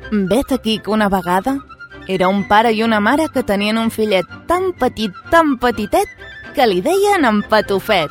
Vet aquí que una vegada era un pare i una mare que tenien un fillet tan petitet, que li deien en Patufet.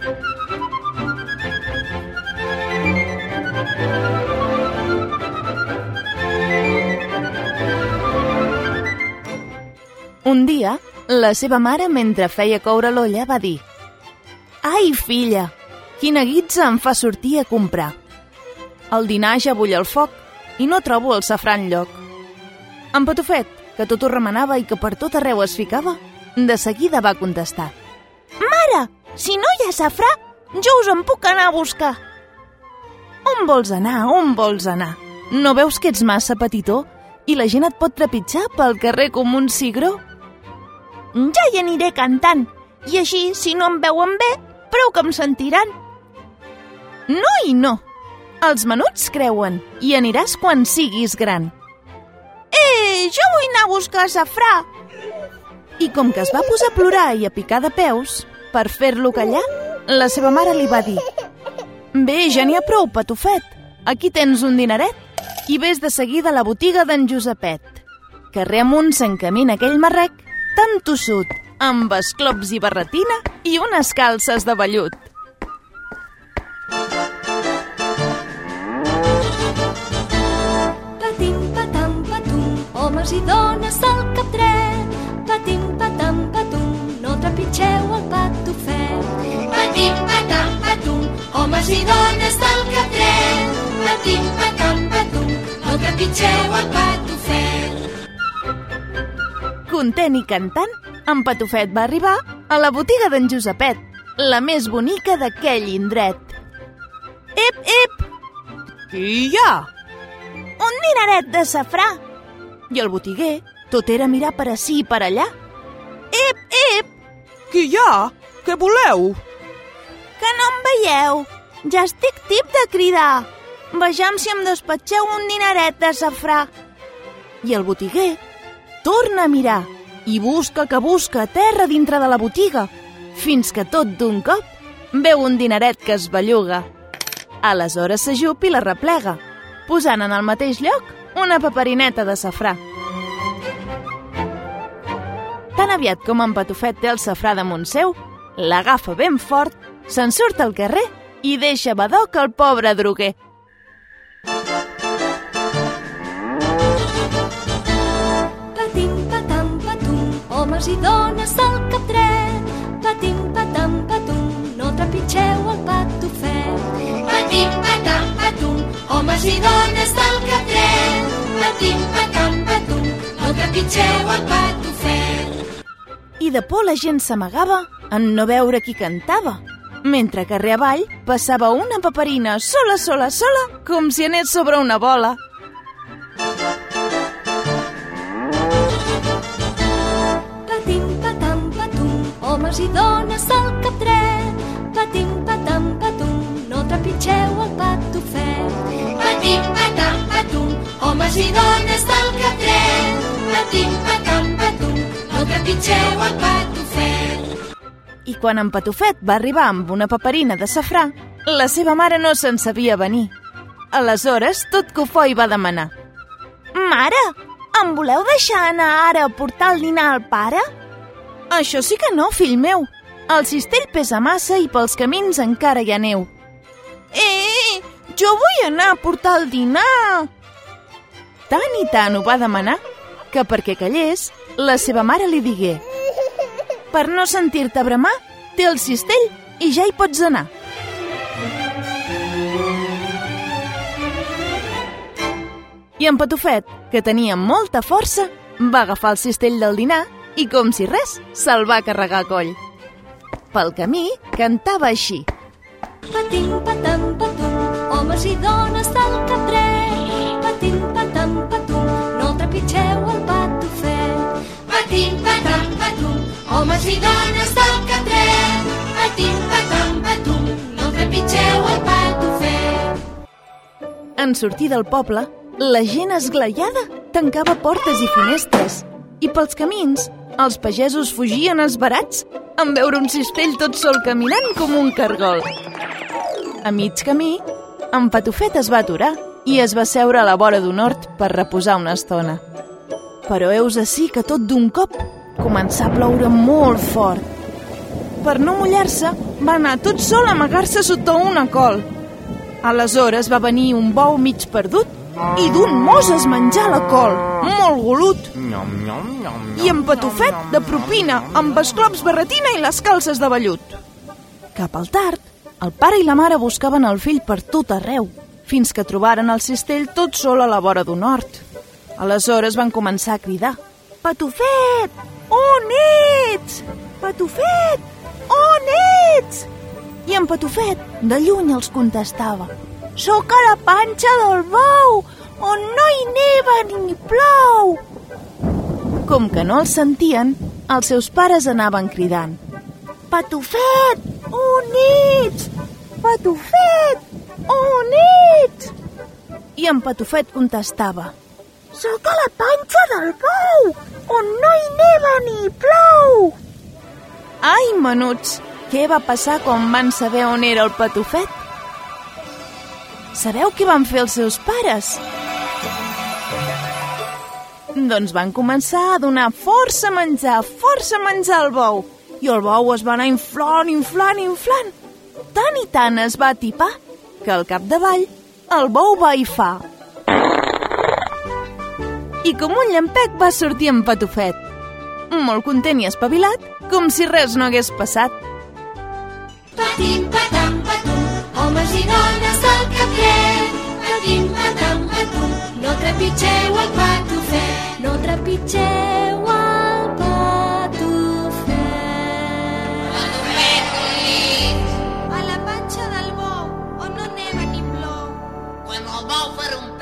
Un dia, la seva mare, mentre feia coure l'olla, va dir: «Ai, filla, quina guitza em fa sortir a comprar. El dinar ja bull al foc i no trobo el safrà enlloc». En Patufet, que tot ho remenava i que per tot arreu es ficava, de seguida va contestar: «Mare, si no hi ha safrà, jo us en puc anar a buscar». «On vols anar? On vols anar? No veus que ets massa petitó i la gent et pot trepitjar pel carrer com un cigró?» «Ja hi aniré cantant, i així, si no em veuen bé, prou que em sentiran». «No i no. Els menuts creuen i aniràs quan siguis gran». «Jo vull anar a buscar safrà». I com que es va posar a plorar i a picar de peus, per fer-lo callar, la seva mare li va dir: «Bé, ja n'hi ha prou, Patufet. Aquí tens un dineret i ves de seguida a la botiga d'en Josepet». Carrer amunt s'encamina aquell marrec tan tossut, amb esclops i barretina i unes calces de vellut. Patim, patam, patum, homes i dones del cap dret. Patim, patam, patum, no trepitgeu el Patufet. Patim, patam, patum, homes i dones del cap dret. Patim, patam, patum, no trepitgeu el Patufet. Content i cantant, en Patufet va arribar a la botiga d'en Josepet, la més bonica d'aquell indret. «Ep, ep! Qui hi ha?» «Un dineret de safrà». I el botiguer tot era mirar per ací i per allà. «Ep, ep! Qui hi ha? Què voleu?» «Que no em veieu? Ja estic tip de cridar. Vejam si em despatxeu un dineret de safrà». I el botiguer torna a mirar i busca que busca a terra dintre de la botiga, fins que tot d'un cop veu un dineret que es belluga. Aleshores s'ajup i la replega, posant en el mateix lloc una paperineta de safrà. Tan aviat com en Patufet té el safrà damunt seu, l'agafa ben fort, se'n surt al carrer i deixa badoc el pobre droguer. Homes i dones del cap dret. Patim, patam, patum, no trepitgeu el Patufet. Patim, patam, patum, homes i dones del cap dret. Patim, patam, patum, no trepitgeu el Patufet. I de por la gent s'amagava en no veure qui cantava, mentre carrer avall passava una paperina sola, com si anés sobre una bola. Homes i dones del cap dret. Patim, patam, patum, no trepitgeu el Patufet. Patim, patam, patum, homes i dones del cap dret. Patim, patam, patum, no trepitgeu el Patufet. I quan en Patufet va arribar amb una paperina de safrà, la seva mare no se'n sabia venir. Aleshores, tot cofoi va demanar: «Mare, em voleu deixar anar ara a portar el dinar al pare?» «Això sí que no, fill meu. El cistell pesa massa i pels camins encara hi ha neu». Jo vull anar a portar el dinar!» Tant i tant ho va demanar que, perquè callés, la seva mare li digué: «Per no sentir-te bramar, té el cistell i ja hi pots anar». I en Patufet, que tenia molta força, va agafar el cistell del dinar i, com si res, se'l va carregar a coll. Pel camí cantava així: Patim, patam, patum, homes i dones del cap dret. Patim, patam, patum, no trepitgeu el Patufet. Patim, patam, patum, homes i dones del cap dret. Patim, patam, patum, no trepitgeu el Patufet. En sortir del poble, la gent esglaiada tancava portes i finestres i pels camins els pagesos fugien esverats en veure un cistell tot sol caminant com un cargol. A mig camí, en Patufet es va aturar i es va seure a la vora d'un hort per reposar una estona. Però heus ací que tot d'un cop començà a ploure molt fort. Per no mullar-se, va anar tot sol a amagar-se sota una col. Aleshores va venir un bou mig perdut i d'un mos es menjà la col, molt golut. I en Patufet, de propina, amb esclops, barretina i les calces de vellut. Cap al tard, el pare i la mare buscaven el fill per tot arreu, fins que trobaren el cistell tot sol a la vora d'un hort. Aleshores van començar a cridar: Patufet, on ets? Patufet, on ets? I en Patufet, de lluny, els contestava: Soc a la panxa del bou, on no hi neva ni plou. Com que no els sentien, els seus pares anaven cridant: Patufet, on ets? Patufet, on ets? I en Patufet contestava: Soc a la panxa del bou, on no hi neva ni plou. Ai, menuts, què va passar quan van saber on era el Patufet? Sabeu què van fer els seus pares? Doncs van començar a donar força menjar al bou. I el bou es va anar inflant. Tant i tant es va atipar que al capdavall el bou va aifar. I com un llampec va sortir en Patufet, molt content i espavilat, com si res no hagués passat. Patim, patam, patum, homes i dones del Capret. Patim, patam, patum, no trepitgeu el Patufet. No trepitgeu el Patufet. A la panxa del bou, on no neva ni plou. Quan el bou farà un